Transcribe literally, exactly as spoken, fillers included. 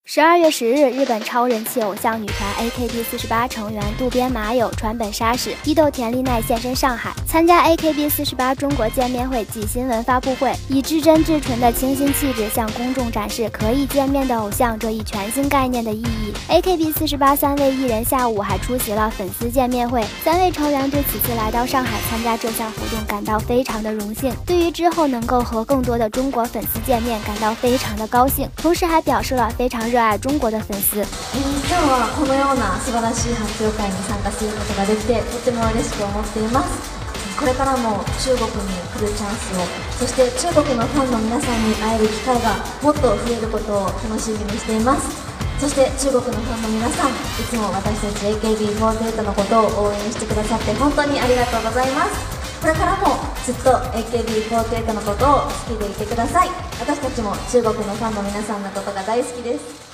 十二月十日，日本超人气偶像女团 A K B 四十八成员渡边麻友、川本纱矢、伊豆田丽奈现身上海，参加 A K B 四十八中国见面会暨新闻发布会，以至真至纯的清新气质向公众展示可以见面的偶像这一全新概念的意义。A K B 四十八三位艺人下午还出席了粉丝见面会，三位成员对此次来到上海参加这项活动感到非常的荣幸，对于之后能够和更多的中国粉丝见面感到非常的高兴，同时还表示了非常热爱中国的粉丝。 今日はこのような素晴らしい発表会に参加することができてとても嬉しく思っています。これからも中国に来るチャンスを、そして中国のファンの皆さんに会える機会がもっと増えることを楽しみにしています。そして中国のファンの皆さん、いつも私たち エーケービーフォーティーエイト のことを応援してくださって本当にありがとうございます。これからもずっと エーケービーフォーティーエイト のことを好きでいてください。私たちも中国のファンの皆さんのことが大好きです。